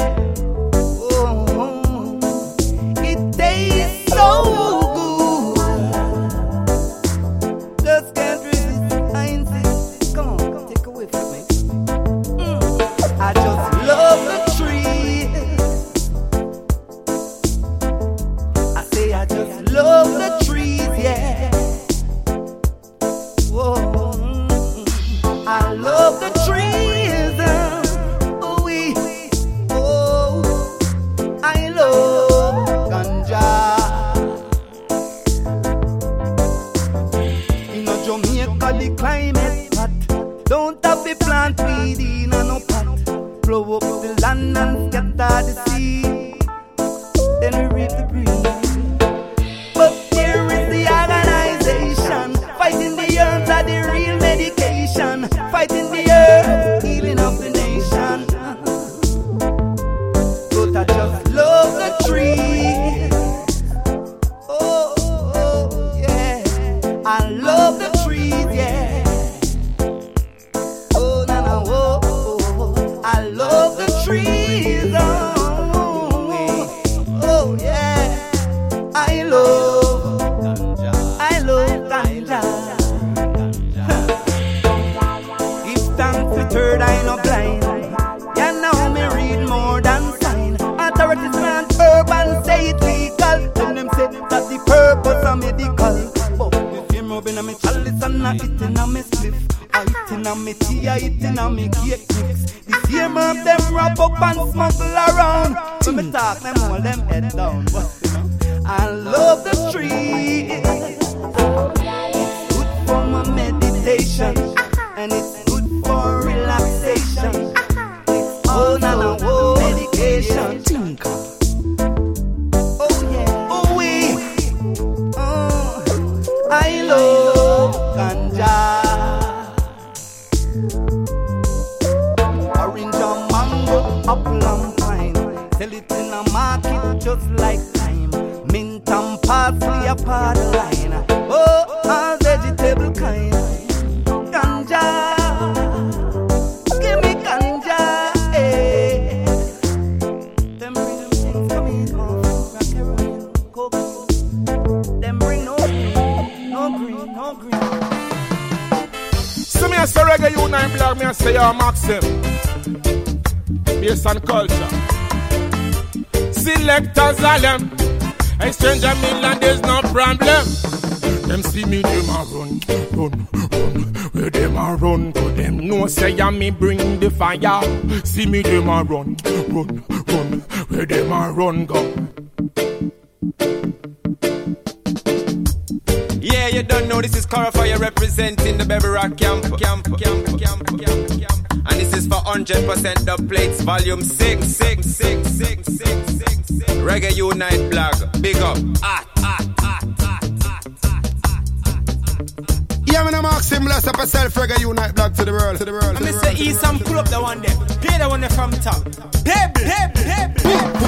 Oh, it tastes so good. Just can't resist. I insist. Come on, take away from me. Mm, I just love the trees. I say I just love the trees, yeah. Whoa, mm, I love the trees. Oh, we, oh, I love ganja. In a Jamaica, the climate hot. Don't have to plant weed in a no pot. Blow up the land and scatter the sea. Then we reap the breeze. But here is the organization, fighting the herbs are the real medication, fighting the earth, healing of the nation. But I just love the trees. Oh, oh, yeah, I love the trees, yeah. Oh, na na, oh, oh, oh. I love the trees. Oh, oh, yeah. I love ganja. I love ganja. If thanks to third eye no blind. Yeah, now me read more than sign. Authorities plant herb and say it legal. Then them say that the purpose are medical. But if you're rubbing on me chalice and not eating on me spliff, I eating on me tea, I eating on me cake mix. The same herb them wrap up and smuggle around. When me talk, them hold them head down. But, you know, I love the trees. It's good for my meditation, and it's good for relaxation. It's all na na whoa medication. Oh yeah, oh we, oh, I love ganja. Orange and mango, apple and pine. Sell it in a market just like time. Mint and parsley apart the line. Oh, all vegetable kind. Ganja, give me ganja, eh. Them bring them things come in, oh, rock heroin, cocaine. Them bring no green, no green, no green. So me a say reggae unite blog, me a say yo Maxim. Based on culture. Selectors are them. A stranger mainland, there's no problem. Them see me, them a run, run, run. Where them a run to them, no say ya me bring the fire. See me, them a run, run, run. Where them a run go. Yeah, you don't know this is Corafire representing the Baby Rock camp, camp, camp, camp, camp, camp. And this is for one hundred percent dub plates, volume six, six, six, six, six, six, six. Reggae Unite blog, big up. Ah, ah, ah, ah, ah, ah, ah. Yeah, me no Maxim, bless up yourself, Reggae Unite blog to the world, to the world. And Mister E, some pull up the one there. Play the one there from top. Baby, baby, baby.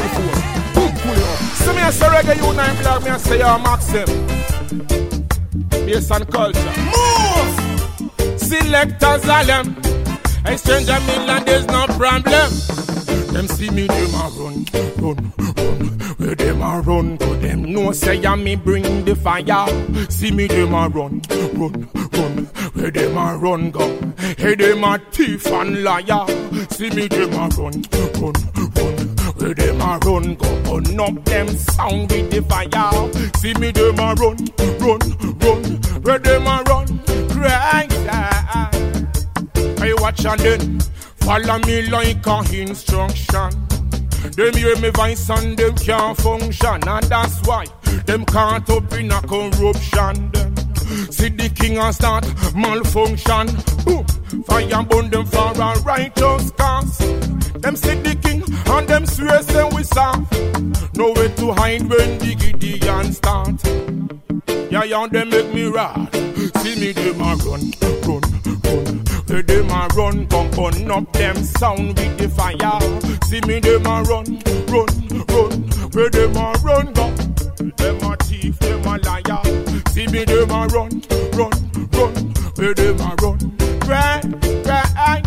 So me a say Reggae Unite blog, me a say yo Maxim. Based on culture. Move! Selectors are them. A stranger mainland, there's no problem. Them see me, them a run, run, run. Where them a run, to them no say ya me bring the fire. See me them a run, run, run. Where them a run go? Hey them a thief and liar. See me them a run, run, run. Where them a run go? Burn up them sound with the fire. See me them a run, run, run. Where them a run? Cry. I watch and then follow me like a instruction. Them hear me voice and them can't function, and that's why them can't up in a corruption. Them see the king and start malfunction. Boom, fire burn them for a righteous cause. Them see the king and them swear say we soft. Nowhere to hide when the Gideon start. Yeah, yeah, they make me rad. See me them a run, run, run. Where them a run, come burn up them sound with the fire. See me them a run, run, run. Where them a run, go. Them a thief, them a liar. See me them a run, run, run. Where them a run, cry, cry, cry.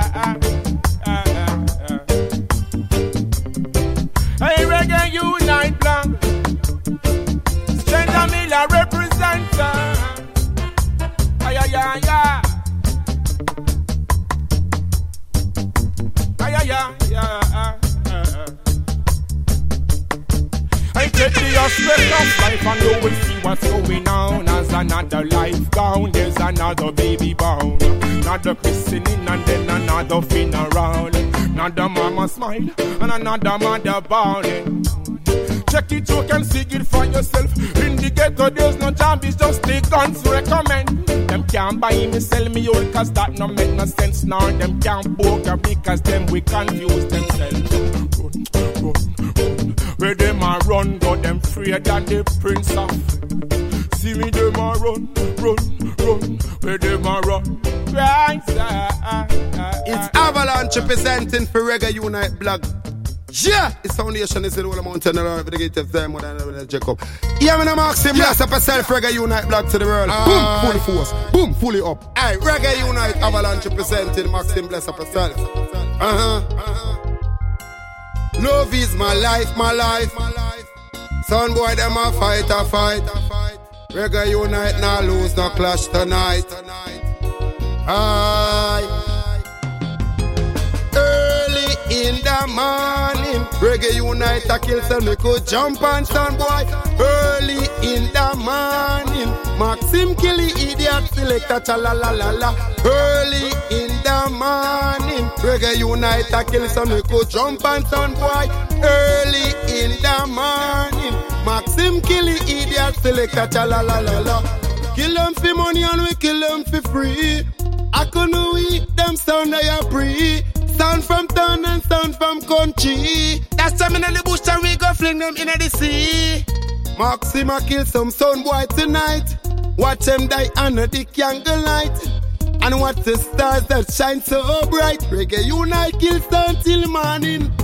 Hey, Reggae Unite Black. Stranger Miller representer. Ay, ay, ay, ay. Ay, ay, ay, ay. I take the aspect of life and you will see what's going on. As another life gone, there's another baby born. Another christening and then another funeral. Another mama smile and another mother bawling. Check it, you can see it for yourself. In the ghetto, there's no job, it's just the guns recommend. Them can't buy me, sell me all, cause that no make no sense. Now them can't book because them we confuse themselves. Run, run, run. Where them a run, got them freer than the prince of. See me them a run, run, run. Where them a run. Right, it's Avalanche representing for Reggae Unite Blog. Yeah, it's foundation is in all the mountain around the gate of them when I check up. Yeah, I'm Maxim, bless up yourself, Reggae Unite Blog to the world. Uh, boom, fully force, boom, fully up. Hey, Reggae Unite Avalanche representing Maxim, bless up yourself. Uh-huh, uh-huh. Love is my life, my life, my life. Son boy, them a fight, a fight. Reggae Unite, now lose, no clash tonight. Aye. Early in the morning, Reggae Unite a kill so me could jump on son boy. Early in the morning, Maxim kill the idiot selector cha la la la la. Early in the morning, Reggae Unite a kill so me could jump on son boy. Early in the morning, Maxim kill the idiot selector cha la la la la. Kill them for money and we kill them for free. I couldn't eat them sound they are free. Sound from town and sound from country. That's time in the bush and we go fling them in the sea. Maxima kill some sound boy tonight. Watch them die under the candlelight. And watch the stars that shine so bright. Reggae Unite kill sound till morning.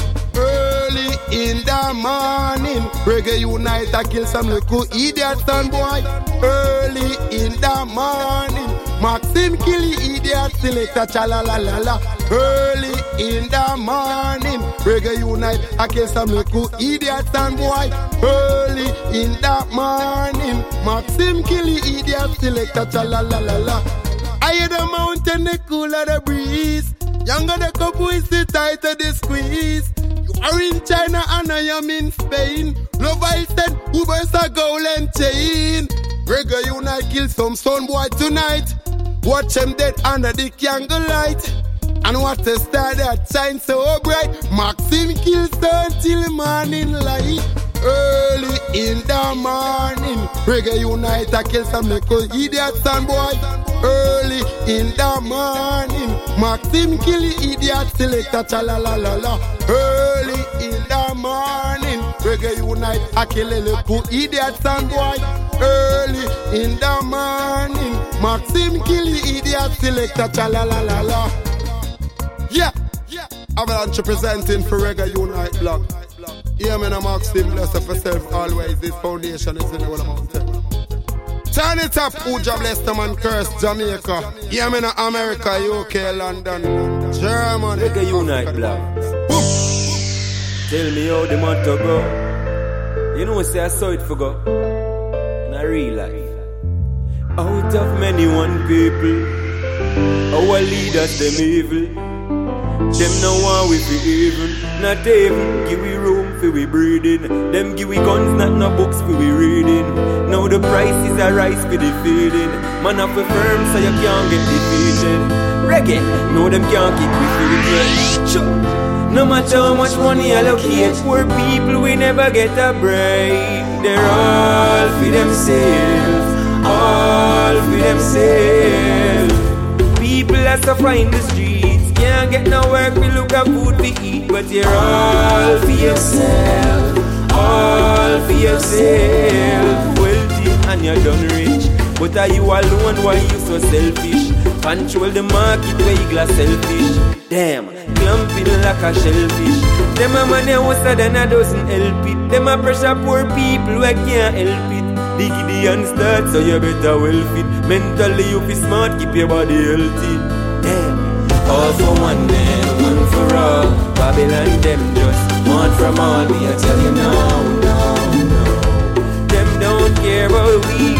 Early in the morning, Reggae Unite I kill some little idiot son boy. Early in the morning, Maxim kill the idiot selector cha la la la la. Early in the morning, Reggae Unite I kill some little idiot son boy. Early in the morning, Maxim kill the idiot selector cha la la la la. Higher the mountain, the cooler the breeze. Younger the couple is the tighter the squeeze. You are in China and I am in Spain. Love I said, Uber's a golden chain. Reggae Unite kill some son boy tonight. Watch them dead under the candlelight. And watch the star that shine so bright. Maxim kills son till morning light. Early in the morning, Reggae Unite I kill some little idiot son boy. Early in the morning, Maxim kill the idiot selector cha la la la la. Early in the morning, Reggae Unite I kill a little idiot son boy. Early in the morning, Maxim kill the idiot selector cha la la la la. Yeah, yeah. Avalanche presenting for Reggae Unite Blog. Yeah, man, I'm Maxim, bless up yourself always. This foundation is in the whole mountain. Turn it up, Uja bless them and curse Jamaica. Yeah, man, America, U K, London, Germany. Reggae Unite Blog. Tell me how the matter go. You know, say I saw it for go in a real life. Out of many one people, our leaders them evil. Them no want we fi even, not even give we room fi we breathing. Them give we guns, not no books fi we reading. Now the price is a rise for the feeding. Man up a firm so you can't get defeated. Reggae, no them can't kick we feet. Sure. No matter how much money allocate, poor people we never get a break. They're all for themselves, all for themselves. People are suffering in the streets, can't get no work, we look at food to eat. But you're all for yourself, all for yourself. Wealthy and you're done rich, but are you alone? Why you so selfish? Control the market where you glass selfish. Damn, clumping like a shellfish. Them a money worse than a dozen help it. Them a pressure poor people who can't help it. Diggity and start so you better well fit. Mentally you be smart, keep your body healthy. Damn, all for one man, one for all. Babylon them just want from all. Me I tell you now, no, no. Them don't care about we.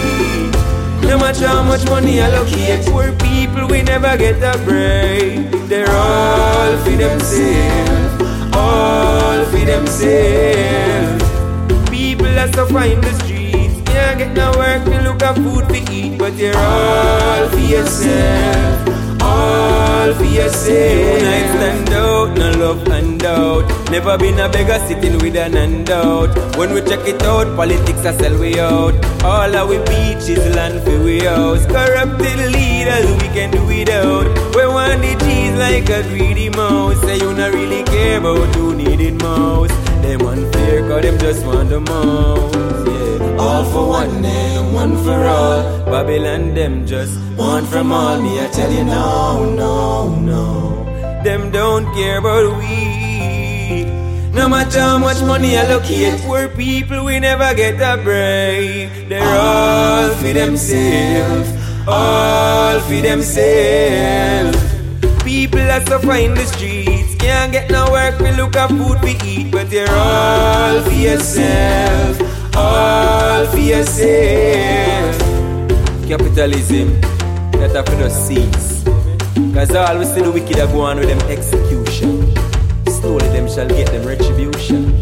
No matter how much money allocate, poor people we never get a break. They're all for themselves, all for themselves. People are suffering in the streets, can't get no work, we look at food to eat. But you're all for yourself, all for yourself. Unite, stand out, no love and doubt. Never been a beggar sitting with an handout. When we check it out, politics are sell we out. All our beaches land for we house. Corrupted leaders we can do without. We want the cheese like a greedy mouse. Say you not really care about who need it most. Them unfair cause them just want the most, yeah. All for one and one for all. Babylon them just want from all. Me I tell you no, no, no. Them don't care about we. No matter how much money allocate, poor people we never get a break. They're all for themselves, all for themselves. People are suffering in the streets, can't get no work, we look at food we eat. But you're all for yourself, all for yourself. Capitalism, that have to cease. Cause all we see the wicked are going with them execution. Slowly them shall get them retribution.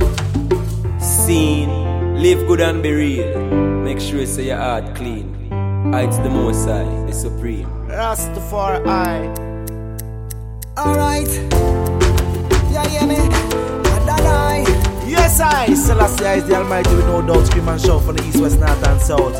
Seen, live good and be real. Make sure you say your heart clean. It's the Most High, the Supreme. Rastafari. Alright. Yeah, yeah, me. Adonai. Yes, I. Selassie is the Almighty with no doubt. Scream and shout from the east, west, north and south.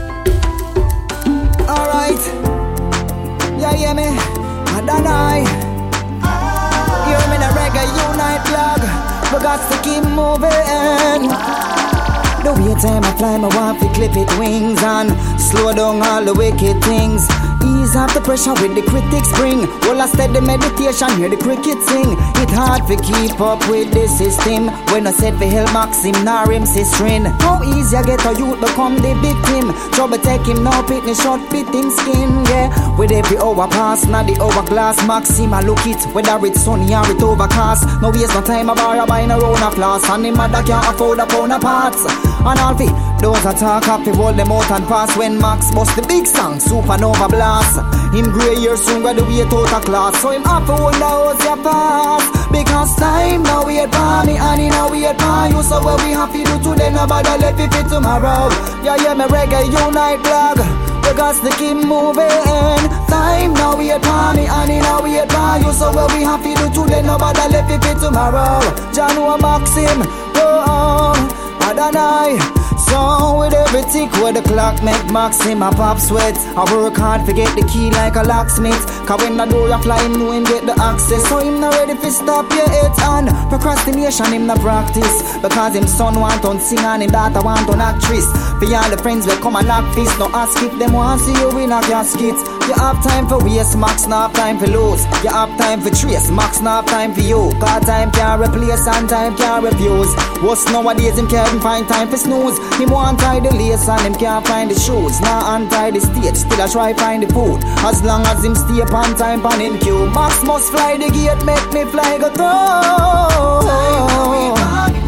Alright. Yeah, yeah, me. Adonai. Hear me the Reggae Unite blog. We got to keep moving. The way time I fly, my want to clip it wings and slow down all the wicked things. Ease off the pressure with the critics bring. Well, I steady meditation, hear the cricket sing. It hard to keep up with the system. When I said for help Maxim, nor him sistering. How easy I get a youth become the victim. Trouble take him now, pit me short, fit him skin, yeah. With every hour pass, now the hourglass Maxim, I look it, whether it's sunny or it overcast. No waste no time, I borrow buying a round of floss. And him mother can't afford a pound of parts. And all fi, those attack up, hold them out and pass. When Max bust the big song, supernova blast. Him grey years soon graduate out of class. So him have to hold the house ya pass. Because time now wait for me and he now wait for you. So what we have to do today, nobody left it for tomorrow. Yeah, yeah, me Reggae Unite blog. We got to keep moving. Time now wait for me and he now wait for you. So what we have to do today, nobody left it for tomorrow. John Wayne Maxim, oh, oh. Adonai. So with every tick where the clock make Maxim a pop sweat. I work hard to get the key like a locksmith. Cause when the door a fly him know him get the access. So him not ready to stop your hits and procrastination him not practice. Because him son want on sing and him daughter want on actress. For all the friends will come and knock fist. No ask if them want see you in a casket. You have time for waste, Max not have time for lose. You have time for trace, Max not have time for you. Cause time can't replace and time can't refuse. What's nowadays him can't find time for snooze. Him want tie the lace and him can't find the shoes. Now untie the stage, still I try find the food. As long as him stay upon time pan him queue. Max must fly the gate, make me fly go through.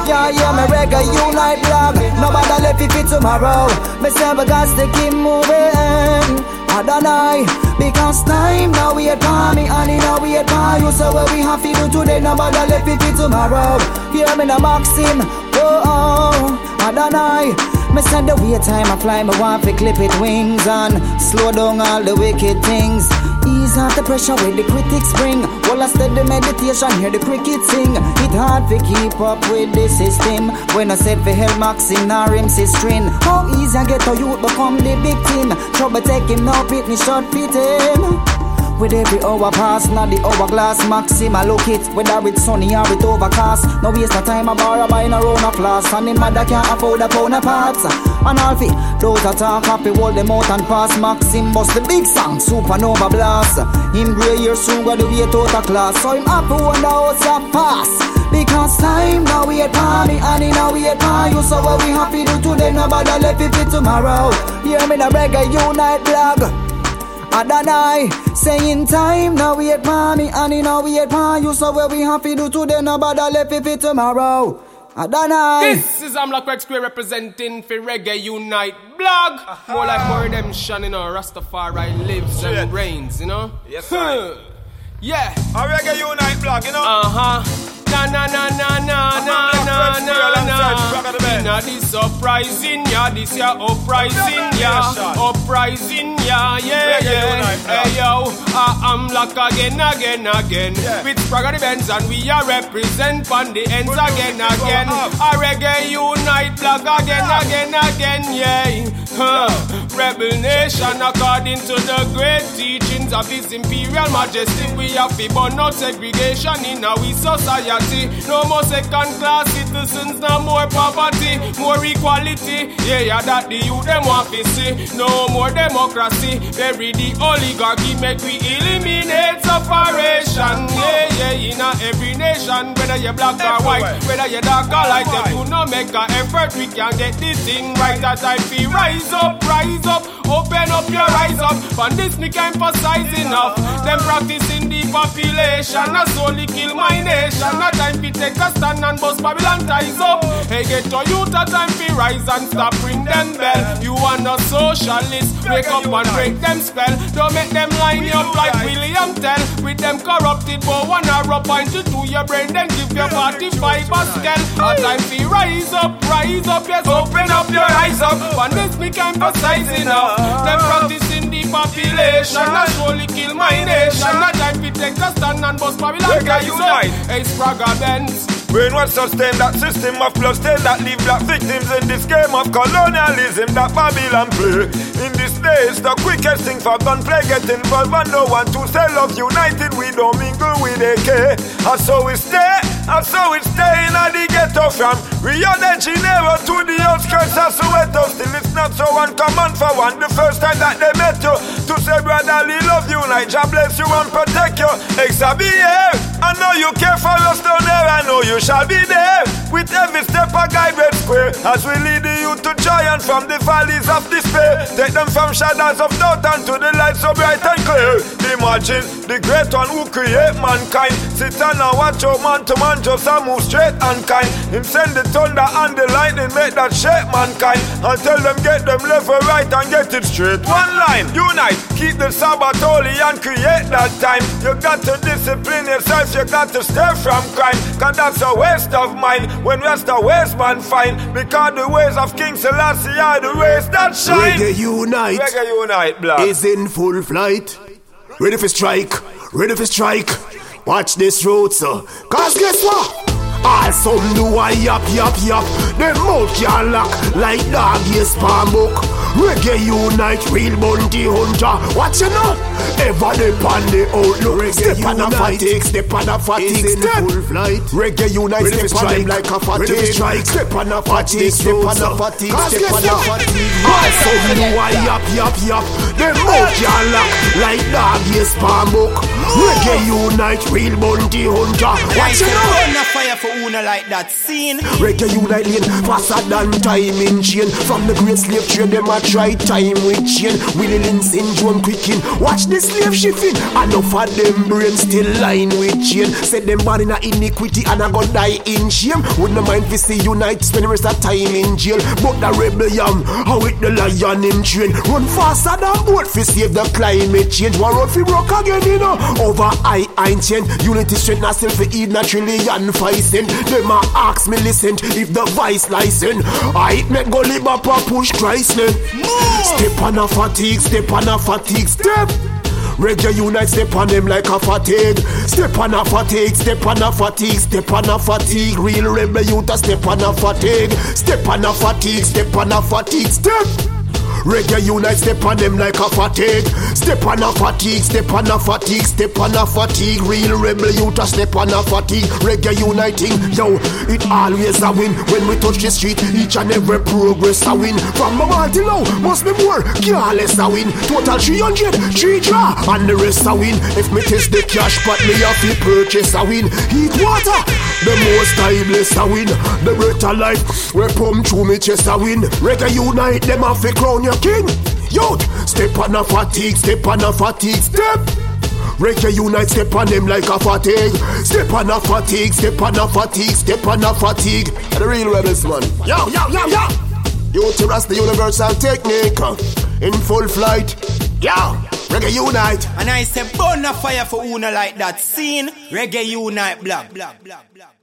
can't hear me reggae unite blog. Nobody left it for tomorrow. Me say we got to keep moving. I don't know, because time now we at me and in now we at you. So what we have to do today, nobody left it for tomorrow. Hear me now, Maxim. Oh, oh, I don't know. Me said the way time I fly, me want to clip it wings and slow down all the wicked things. Ease off the pressure where the critics bring. While I study meditation, hear the cricket sing. It hard to keep up with the system. When I said for hell Maxim, nor him say string. How easy I get to youth become the victim. Trouble take him now, pit me short fit him. With every hour pass, not the hourglass Maxim, I look it, whether it's sunny or it's overcast. No waste no time, I borrow buying a round of class. And him mother can't afford a pound of parts. And all fi, those that talk happy, hold them out and pass. Maxim bust the big song, supernova blast. Him grey year soon got the way out of class. So him happy when the house a pass. Because time now we at party and in now we at party. You so what we have to do today, nobody left it for tomorrow. Hear me the reggae unite blog. Adonai, saying time now we at mommy and in now we at pa. You so what we have to do today, nobody left it for tomorrow. Adonai. This is Amla Craig Square representing for Reggae Unite blog. Uh-huh. More like more redemption, you know. Rastafari lives Shit. and reigns, you know. Yes, sir. Yeah. A Reggae Unite blog, you know. Uh huh. Na na na na na na na na na. Inna this uprising, yeah, this ya uprising, yeah, uprising, yeah, yeah, yeah. Hey yo, I am like again, again, again. With Spragga the Benz and we are represent on the ends again, again. A Reggae Unite blog again, again, again, yeah. Huh. Rebel nation according to the great teachings of His Imperial Majesty. We have to burn out segregation in our society. No more second class citizens, no more poverty, more equality. Yeah, yeah, that the youth them want to see. No more democracy. Bury the oligarchy, make we eliminate separation. Yeah, yeah, in every nation, whether you're black or white, whether you're dark or light, if you no make an effort, we can get this thing right. That I feel rise up, rise up, open up your eyes up. On this me can emphasize enough. Them practicing the population, not solely kill my nation. Not time to take a stand and bust Babylon ties up. Hey, get to youth a time to rise and stop ring them bell. You are not socialist, wake up and break them spell. Don't make them line you up like William Tell. With them corrupted but one arrow point to do your brain, then give your forty-five a scale. A time to rise up, rise up, yes, open up your eyes up. On this me can emphasize enough. Them practicing the population, not surely kill my nation. Not time to take a stand and bust Babylon ties up. Hey, Spragga Benz. Brainwash sustain that system of bloodstains that leave black victims in this game of colonialism that Babylon play. In this day, it's the quickest thing for gunplay. Get involved and no one to say love united. We don't mingle with A K. And so we stay, and so we stay in the ghetto from Rio de Janeiro to the outskirts of Soweto. Still it's not so uncommon for one the first time that they met you to say brotherly love unite. God bless you and protect you. Exa be here. I know you care for us down there. I know you shall be there with every step a guided square as we lead the youth to giant from the valleys of despair. Take them from shadows of doubt and to the light so bright and clear. Imagine the great one who create mankind sit and watch your man to man just a move straight and kind. Him send the thunder and the lightning make that shake mankind and tell them get them level right and get it straight. One line, unite, keep the Sabbath holy and create that time. You got to discipline yourself, you got to stay from crime, cause that's a waste of mine when rest a waste man find. Because the ways of King Selassie are the ways that shine. Reggae Unite, Reggae Unite, blood is in full flight. Ready for strike, ready for strike. Watch this road, sir. Cause guess what? All some do a yap yap yap. Them mouth can lock like dog yes palm book. Reggae Unite, real bounty hunter. What you know? Ever they pan the outlook. Reggae step on a fatigue, step on a fatigue. Is in full flight. Reggae Unite, step on them like a fatigue. Step on a fatigue, step on a fatigue. Step on a fatigue. All some do a yap yap yap. Them mouth can lock like dog yes palm book. Reggae Unite, real bounty hunter. What you know? Fire for una like that scene. Reggae Unite lane faster than time in chain. From the great slave trade them a try time with chain. Willie Lynn syndrome quicking. Watch the slave shipping. Enough of them brains still lying with chain. Said them born in a iniquity and I gonna die in shame. Would no mind to see unite, spend the rest of time in jail. But the rebel yam, how it the lion in train. Run faster than boat fi save the climate change. War road fi broke again, you know. Over I ain't chain. Unity strength na self fi eat na trillion five cent. Them a ask me listen if the vice license. I make go live up a push Christ name. Step on a fatigue, step on a fatigue, step. Reggae unite, step on them like a fatigue. Step on a fatigue, step on a fatigue, step on a fatigue. Real rebel youth a step on a fatigue. Step on a fatigue, step on a fatigue, step. Reggae unite, step on them like a fatigue. Step on a fatigue, step on a fatigue, step on a fatigue. Real rebel youth a step on a fatigue. Reggae uniting, yo, it always a win. When we touch the street, each and every progress a win. From Mama till now, must be more, careless a win. Total three hundred, three draw, and the rest a win. If me test the cash pot, me have to purchase a win. Heat water, the most timeless a win. The breath of life, we pump through me chest a win. Reggae unite, them have to crown your king. Youth, step on a fatigue, step on a fatigue, step. Reggae unite, step on them like a fatigue. Step on a fatigue, step on a fatigue, step on a fatigue. The real rebels, man. Yo, yo, yo, yo. Youth, the universal technique in full flight. Yo, Reggae unite. And I say burn a fire for una like that scene. Reggae unite, blah, blah, blah, blah.